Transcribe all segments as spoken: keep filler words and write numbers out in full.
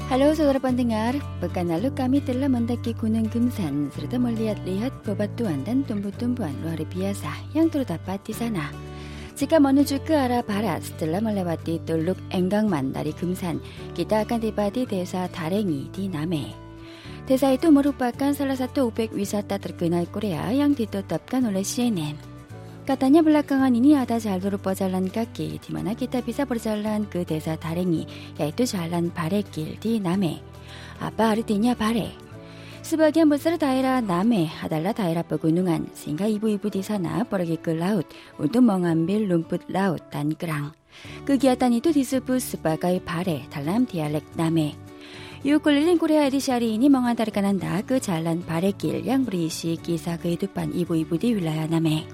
Halo saudara pendengar, pekan lalu kami telah mendaki Gunung Gemsan serta melihat-lihat bebatuan dan tumbuh-tumbuhan luar biasa yang terdapat di sana. Jika menuju ke arah barat setelah melewati Teluk Enggangman dari Gemsan, kita akan tiba di desa Darengi di Namhe. Desa itu merupakan salah satu objek wisata terkenal Korea yang ditetapkan oleh C N N. Katanya belakangan ini ada jalur pejalan kaki di mana kita bisa berjalan ke desa Darengi, yaitu Jalan Barekil di Namhe. Apa artinya bare? Sebagian besar daerah Namhe adalah daerah pegunungan, sehingga ibu-ibu di sana pergi ke laut untuk mengambil rumput laut dan kerang. Kegiatan itu disebut sebagai bare dalam dialek Namhe. Yuk keliling Korea edisi hari ini mengantarkan Anda ke Jalan Barekil yang berisi kisah kehidupan ibu-ibu di wilayah Namhe.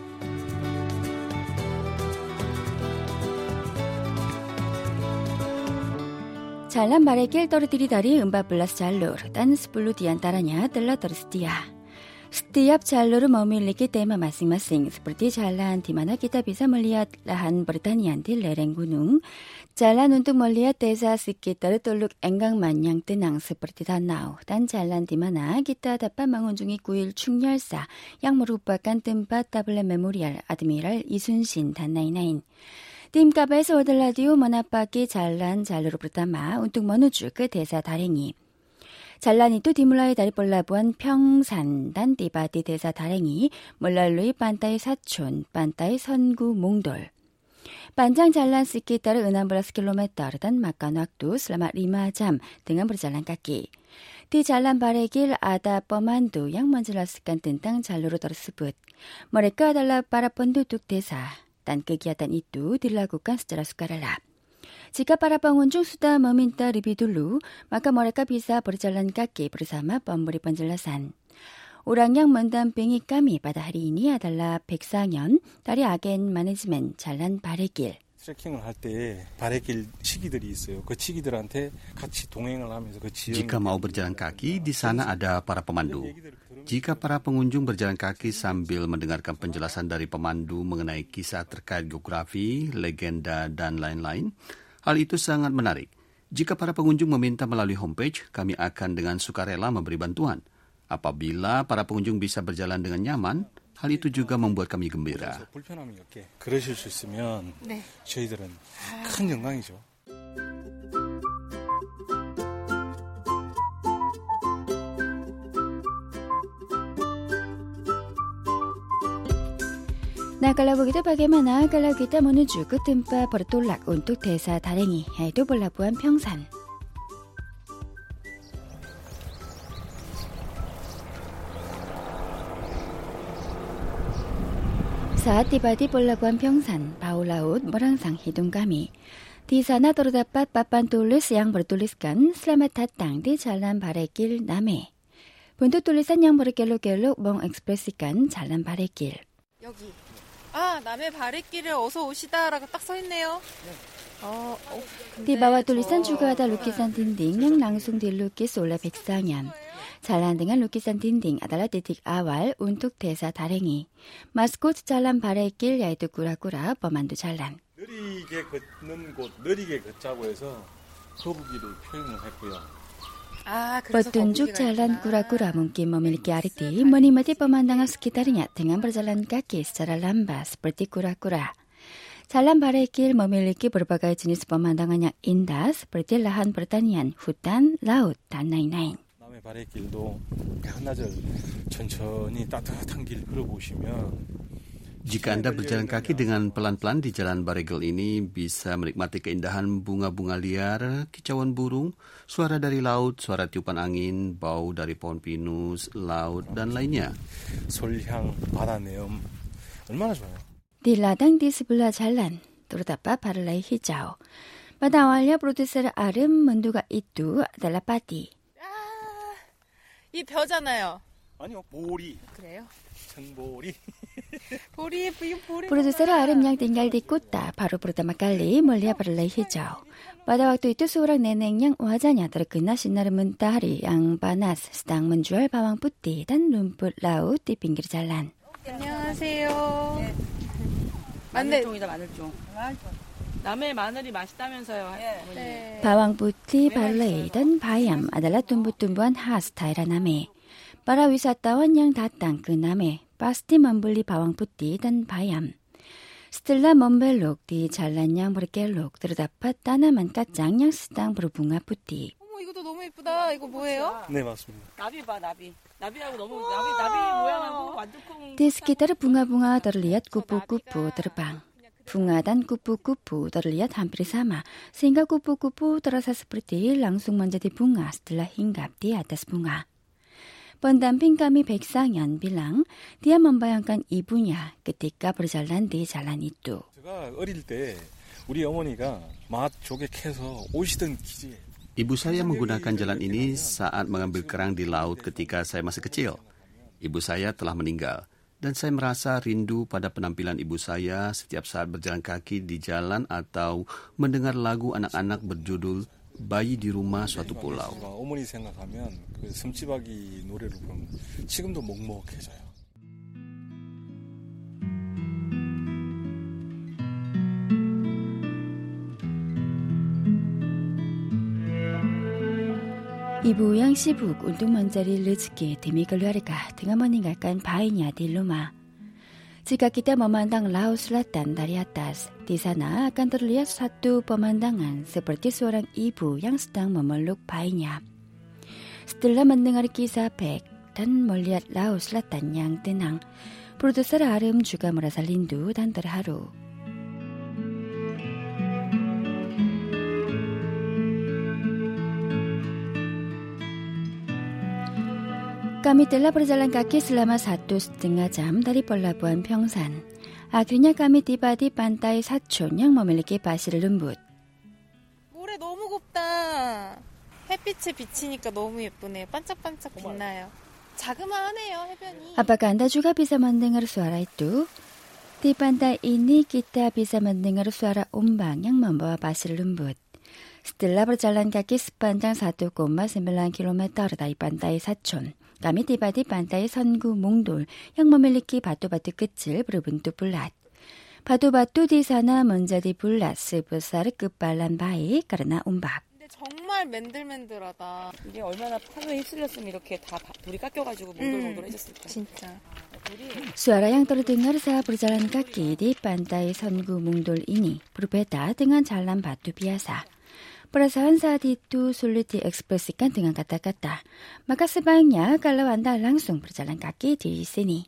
Jalan Barekil terdiri dari empat belas jalur dan sepuluh diantaranya telah tersedia. Setiap jalur memiliki tema masing-masing seperti jalan di mana kita bisa melihat lahan pertanian di lereng gunung, jalan untuk melihat desa sekitar Teluk Enggangman yang tenang seperti danau, dan jalan di mana kita dapat mengunjungi kuil Chungyalsa yang merupakan tempat tablet memorial Admiral Isun-shin dan lain-lain. Tim K B S World Radio menapaki jalan jalur pertama untuk menuju ke desa Darengi. Jalan itu dimulai dari pelabuhan Pyeongsan dan tiba di desa Darengi melalui pantai Sacheon, pantai Seongu, Mongdol. Panjang jalan sekitar enam belas kilometer dan makan waktu selama lima jam dengan berjalan kaki. Di Jalan Barekil ada pemandu yang menjelaskan tentang jalur tersebut. Mereka adalah para penduduk desa. Dan kegiatan itu dilakukan secara sukarela. Jika para pengunjung sudah meminta lebih dulu, maka mereka bisa berjalan kaki bersama pemberi penjelasan. Orang yang mendampingi kami pada hari ini adalah 백상현 dari agen manajemen Jalan Barekil. 트레킹을 할 때 바레길 치기들이 있어요. 그 치기들한테 같이 동행을 하면서 그 지형. Jika mau berjalan kaki, di sana ada para pemandu. Jika para pengunjung berjalan kaki sambil mendengarkan penjelasan dari pemandu mengenai kisah terkait geografi, legenda, dan lain-lain, hal itu sangat menarik. Jika para pengunjung meminta melalui homepage, kami akan dengan sukarela memberi bantuan. Apabila para pengunjung bisa berjalan dengan nyaman, hal itu juga membuat kami gembira. 불편함이 없게 그러실 수 있으면 네. 저희들은 큰 영광이죠. Nah, kalau begitu bagaimana kalau kita menuju ke tempat bertolak untuk desa Darengi, yaitu pelabuhan Pyeongsan. Saat tiba di pelabuhan Pyeongsan, bau laut merangsang hidung kami. Di sana terdapat papan tulis yang bertuliskan Selamat datang di Jalan Barekil Namhe. Bentuk tulisan yang berkelok-kelok mengekspresikan Jalan Barekil. 여기. 아, 남해 바랫길에 어서 오시다라고 딱 써 있네요. 어, 어, Di bawah tulisan juga ada lukisan dinding yang langsung dilukis oleh 백상현. Jalan dengan lukisan dinding adalah titik awal untuk desa Darengi. Maskot Jalan Barekil yaitu kura-kura pemandu jalan. 느리게 걷는 곳, 느리게 걷자고 해서 거북이를 표현을 했고요. Petunjuk jalan kura-kura mungkin memiliki arti menikmati pemandangan sekitarnya dengan berjalan kaki secara lambat seperti kura-kura. Jalan Barekil memiliki berbagai jenis pemandangan yang indah seperti lahan pertanian, hutan, laut, dan lain-lain. 남해 바랫길도 한나절 천천히 따뜻한 길 걸어보시면 Jika Anda berjalan kaki dengan pelan-pelan di Jalan Barekil ini, bisa menikmati keindahan bunga-bunga liar, kicauan burung, suara dari laut, suara tiupan angin, bau dari pohon pinus, laut, dan lainnya. 솔향, 바다 내음, 얼마나 좋아요. Di ladang di sebelah jalan, terdapat parley hijau. Pada awalnya produser Arem menduga itu adalah padi. 아, 이 벼잖아요. 아니요, 보리. 그래요? 천보리. 보리, 이 보리. Produser Arem yang tinggal di kota baru pertama kali melihat parley hijau. Pada waktu itu seorang nenek yang wajahnya terkena sinar mentari yang panas sedang menjual bawang putih dan rumput laut di pinggir jalan. 안녕하세요. 네. 마늘종이다, 마늘종. 남의 마늘이 맛있다면서요. 네. Bawang putih barley dan bayam adalah tumbuh-tumbuhan khas daerah Name. Para wisatawan yang datang ke Name pasti membeli bawang putih dan bayam. Setelah membelok di jalan yang berkelok, terdapat tanaman kacang yang sedang berbunga putih. 어머, 이것도 너무 예쁘다. 이거 뭐예요? 네, 맞습니다. 나비 봐, 나비. 나비하고 너무 나비 나비 모양하고 완두콩. Di sekitar bunga-bunga terlihat kupu-kupu terbang. Bunga dan kupu-kupu terlihat hampir sama, sehingga kupu-kupu terasa seperti langsung menjadi bunga setelah hinggap di atas bunga. Pendamping kami Baeksangyeon bilang dia membayangkan ibunya ketika berjalan di jalan itu. 제가 어릴 때 우리 어머니가 맛 조개 캐서 오시던 기지예요. Ibu saya menggunakan jalan ini saat mengambil kerang di laut ketika saya masih kecil. Ibu saya telah meninggal, dan saya merasa rindu pada penampilan ibu saya setiap saat berjalan kaki di jalan atau mendengar lagu anak-anak berjudul Bayi di Rumah Suatu Pulau. 어머니 생각하면 그 섬지박이 노래를 부르면 지금도 먹먹해져요. Ibu yang sibuk untuk mencari rezeki demi keluarga dengan meninggalkan bayinya di rumah. Jika kita memandang laut selatan dari atas, di sana akan terlihat satu pemandangan seperti seorang ibu yang sedang memeluk bayinya. Setelah mendengar kisah Baek dan melihat laut selatan yang tenang, produser Arum juga merasa rindu dan terharu. Kami telah berjalan kaki selama satu setengah jam dari pelabuhan Pyeongsan. Akhirnya kami tiba di pantai Sacheon yang memiliki pasir lembut. 모래 너무 곱다. 햇빛에 비치니까 너무 예쁘네요. 반짝반짝 빛나요. 자그마하네요, 해변이. Apakah Anda juga bisa mendengar suara itu? Di pantai ini kita bisa mendengar suara ombak yang membawa pasir lembut. Setelah berjalan kaki sepanjang satu koma sembilan kilometer dari pantai Sacheon, kami tiba di pantai Seongu Mongdol yang memiliki batu-batu kecil berbentuk bulat. Batu-batu di sana menjadi bulat sebesar kepalan bayi karena ombak. 근데 정말 맨들맨들하다. 이게 얼마나 파도에 휩쓸렸으면 이렇게 다 돌이 깎여가지고 몽돌몽돌해졌을까. 진짜. Suara yang terdengar saat berjalan kaki di pantai Seongu Mongdol ini berbeda dengan jalan batu biasa. Perasaan saat itu sulit diekspresikan dengan kata-kata. Maka sebaiknya kalau Anda langsung berjalan kaki di sini.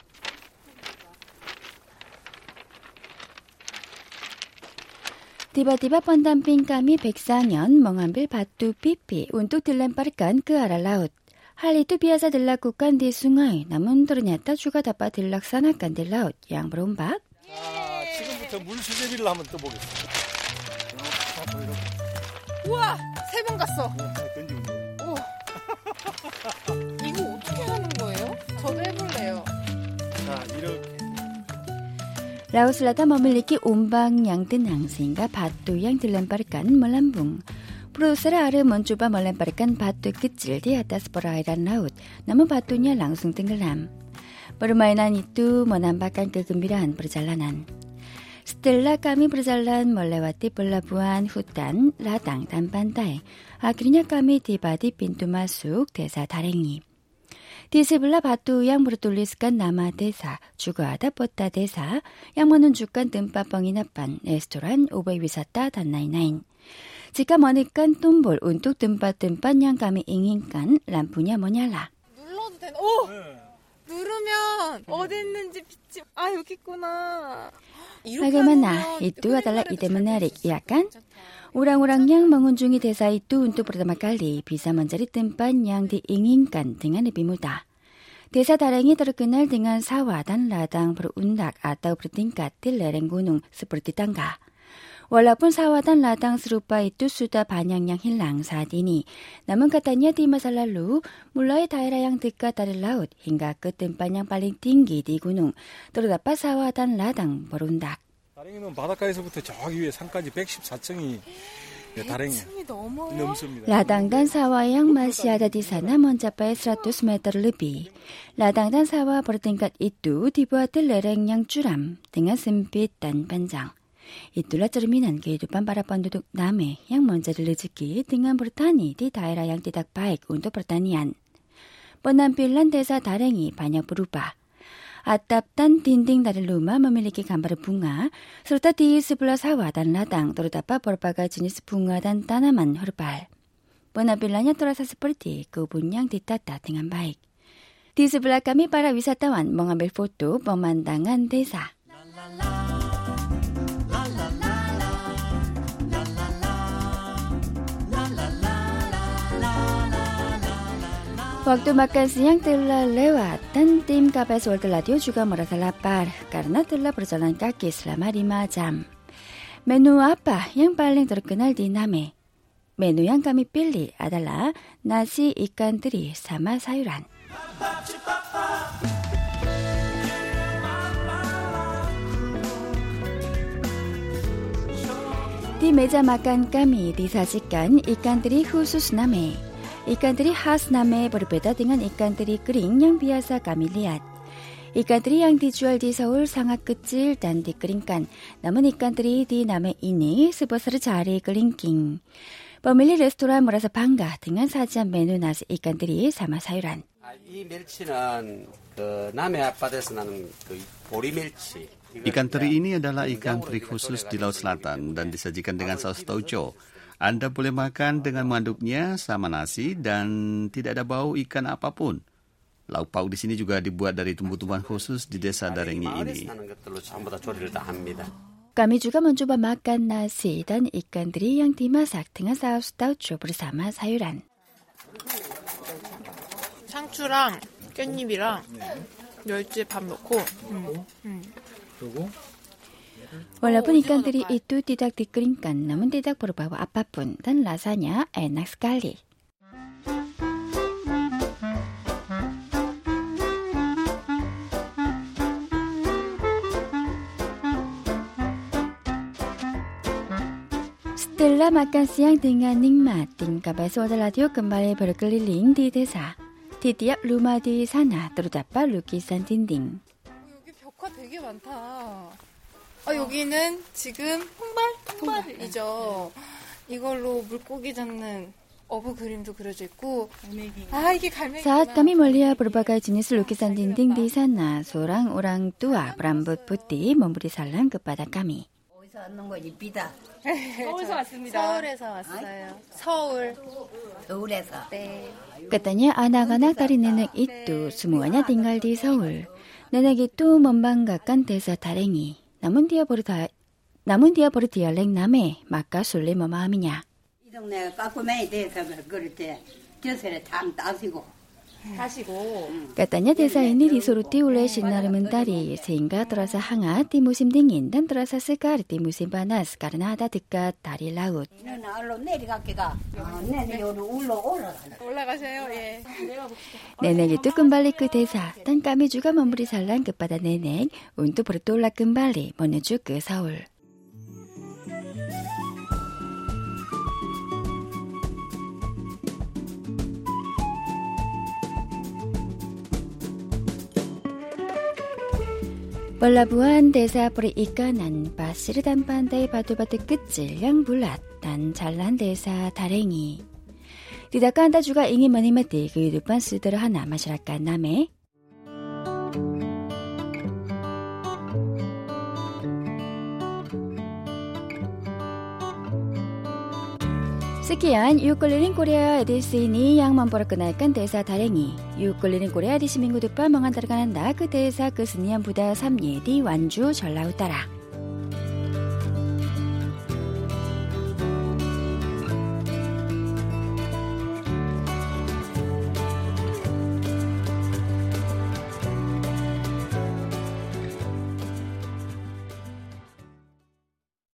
Tiba-tiba pendamping kami Baeksangyeon mengambil batu pipi untuk dilemparkan ke arah laut. Hal itu biasa dilakukan di sungai, namun ternyata juga dapat dilaksanakan di laut yang berombak. 자, 지금부터 물수제비를 한번 떠보겠습니다. 우와! 세 번 갔어. 던지면 돼요. 오. 이거 어떻게 하는 거예요? 저도 해볼래요. 자, 이렇게. Laut Selatan memiliki ombak yang tenang sehingga batu yang dilemparkan melambung. Produser Arum mencoba melemparkan batu kecil di atas perairan laut, namun batunya langsung tenggelam. Permainan itu menambahkan kegembiraan perjalanan. Setelah kami berjalan melewati pelabuhan, hutan, ladang, dan pantai, akhirnya kami tiba di pintu masuk desa Darengi. Di sebelah batu yang bertuliskan nama desa, juga ada peta desa yang menunjukkan tempat penginapan, restoran, obyek wisata, dan lain-lain. Jika menekan tombol untuk tempat-tempat yang kami inginkan, lampunya menyala. 눌러도 되나? 오! 네. 누르면 어디 있는지 빛이 아 여기 있구나. Bagaimana? Itu adalah ide menarik, ya kan? Orang-orang yang mengunjungi desa itu untuk pertama kali bisa mencari tempat yang diinginkan dengan lebih mudah. Desa Darengi terkenal dengan sawah dan ladang berundak atau bertingkat di lereng gunung seperti tangga. Walaupun sawah dan ladang serupa itu sudah banyak yang hilang saat ini, namun katanya di masa lalu, mulai daerah yang dekat dari laut hingga ke tempat yang paling tinggi di gunung, terdapat sawah dan ladang berundak. 다랭이는 바닷가에서부터 저기 위에 산까지 백십사 층이 다랭이 넘습니다. Ladang dan sawah yang masih ada di sana mencapai seratus meter lebih. Ladang dan sawah bertingkat itu dibuat di lereng yang curam dengan sempit dan panjang. Itulah cerminan kehidupan para penduduk Name yang mencari rezeki dengan bertani di daerah yang tidak baik untuk pertanian. Penampilan desa Darengi banyak berubah. Atap dan dinding dari rumah memiliki gambar bunga, serta di sebelah sawah dan ladang terdapat berbagai jenis bunga dan tanaman herbal. Penampilannya terasa seperti kebun yang ditata dengan baik. Di sebelah kami para wisatawan mengambil foto pemandangan desa. Waktu makan siang telah lewat dan tim K B S World Radio juga merasa lapar karena telah berjalan kaki selama lima jam. Menu apa yang paling terkenal di Name? Menu yang kami pilih adalah nasi ikan teri sama sayuran. Di meja makan kami disajikan ikan teri khusus Name. Ikan teri khas Name berbeda dengan ikan teri kering yang biasa kami lihat. Ikan teri yang dijual di Seoul sangat kecil dan dikeringkan. Namun ikan teri di Name ini sebesar jari kelingking. Pemilik restoran merasa bangga dengan sajian menu nasi ikan teri sama sayuran. 이 멸치는 그 남해 앞바다에서 나는 그 보리 멸치. Ikan teri ini adalah ikan teri khusus di Laut Selatan dan disajikan dengan saus tauco. Anda boleh makan dengan mengaduknya sama nasi dan tidak ada bau ikan apapun. Lauk pauk di sini juga dibuat dari tumbuh-tumbuhan khusus di desa Darengi ini. Kami juga mencoba makan nasi dan ikan teri yang dimasak dengan saus tauco bersama sayuran. 상추랑 깻잎이랑 멸치 밥 넣고. 음. 음. 그리고 Walaupun ikan teri itu tidak dikeringkan, namun tidak berbau apapun dan rasanya enak sekali. Setelah makan siang dengan nikmat, tim K B S World Radio kembali berkeliling di desa. Di tiap rumah di sana terdapat lukisan dinding. 여기 벽화 되게 많다. 아, 여기는 지금 홍발? 홍발이죠. 이걸로 물고기 잡는 어부 그림도 그려져 있고. 아, 이게 갈매기구나. Saat kami melihat berbagai jenis lukisan dinding di sana, seorang orang tua berambut putih memberi salam kepada kami. 어디서 왔는 거 이쁘다. 서울에서 왔습니다. 서울에서 왔어요. 서울. 서울에서. 네. Katanya anak-anak dari nenek itu semuanya tinggal di Seoul. Nenek itu membanggakan desa Darengi. Namun dia ber namun dia berdialek Name, maka sulit memahaminya. 이 동네 까꾸맨이 돼서 그럴 때 벼슬에 탕 따시고. 하시고. Katanya desa ini disuruti oleh sinar mentari sehingga terasa hangat di musim dingin dan terasa segar di musim panas karena ada dekat dari laut. 이는 알로 내려갈게가. 내내 요로 울러 올라가. 올라가세요. 예. Nenek itu kembali ke desa dan kami juga memberi salam kepada nenek untuk bertolak kembali menuju ke Seoul. Pelabuhan desa perikanan pasir dan pantai batu-batu kecil yang bulat dan jalan desa Darengi. Tidakkah Anda juga ingin menikmati kehidupan sederhana masyarakat Name? Sekian Yuk Keliling Korea edisi ini yang memperkenalkan desa Darengi. Yuk Keliling Korea edisi minggu depan mengantarkan Anda ke desa kesenian budaya Samye di Wanju, Jeolla Utara.